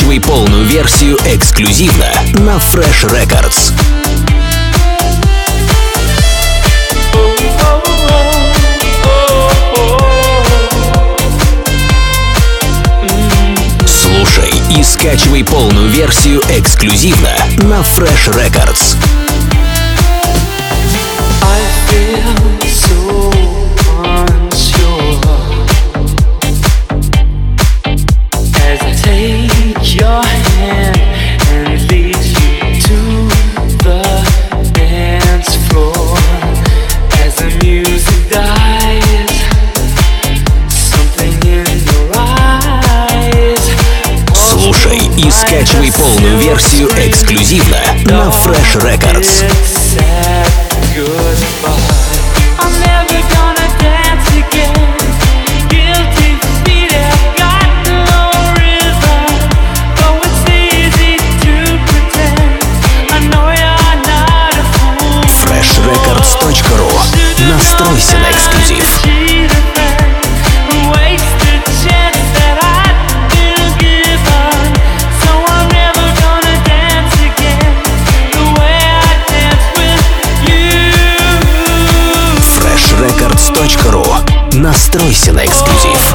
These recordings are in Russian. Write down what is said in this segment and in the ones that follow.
скачивай полную версию эксклюзивно на Fresh Records. Слушай и скачивай полную версию эксклюзивно на Fresh Records. Слушай и скачивай полную версию эксклюзивно на Fresh Records. freshrecords.ru. Настройся на эксклюзив. freshrecords.ru. Настройся на эксклюзив.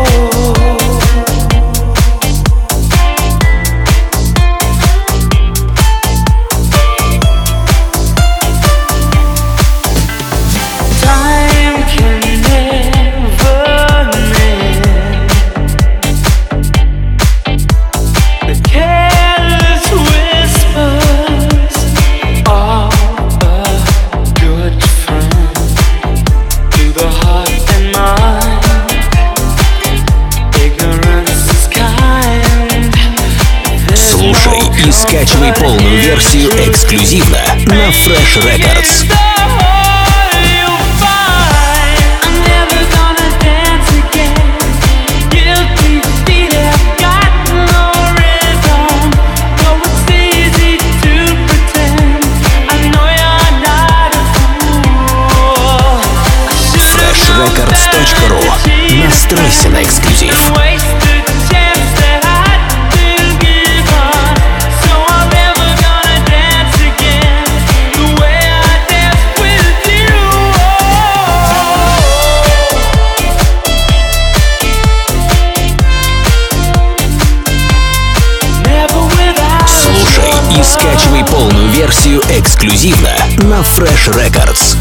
Слушай и скачивай полную версию эксклюзивно на Fresh Records. freshrecords.ru. Настройся на эксклюзив. Слушай и скачивай полную версию эксклюзивно на Fresh Records.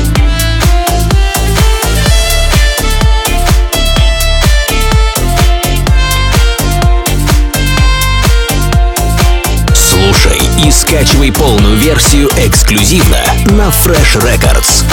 Слушай и скачивай полную версию эксклюзивно на Fresh Records.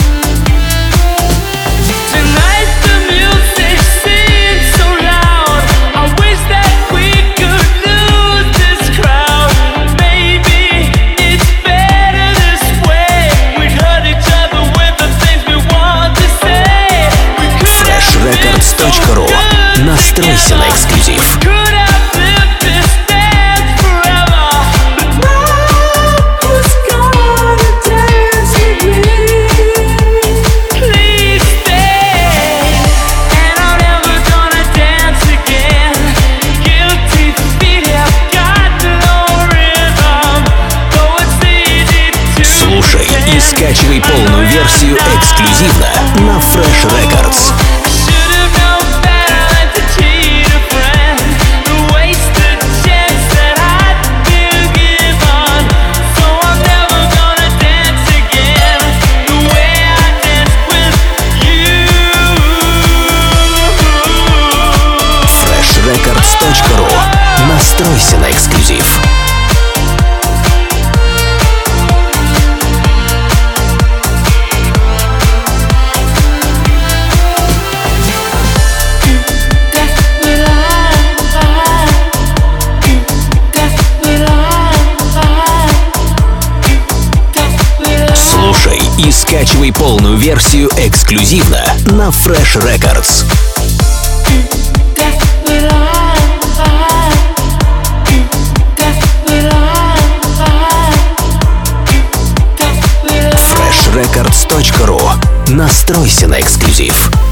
freshrecords.ru. Настройся на эксклюзив. Слушай и скачивай полную версию эксклюзивно на Fresh Records. freshrecords.ru. Настройся на эксклюзив. Слушай и скачивай полную версию эксклюзивно на Fresh Records. freshrecords.ru. Настройся на эксклюзив.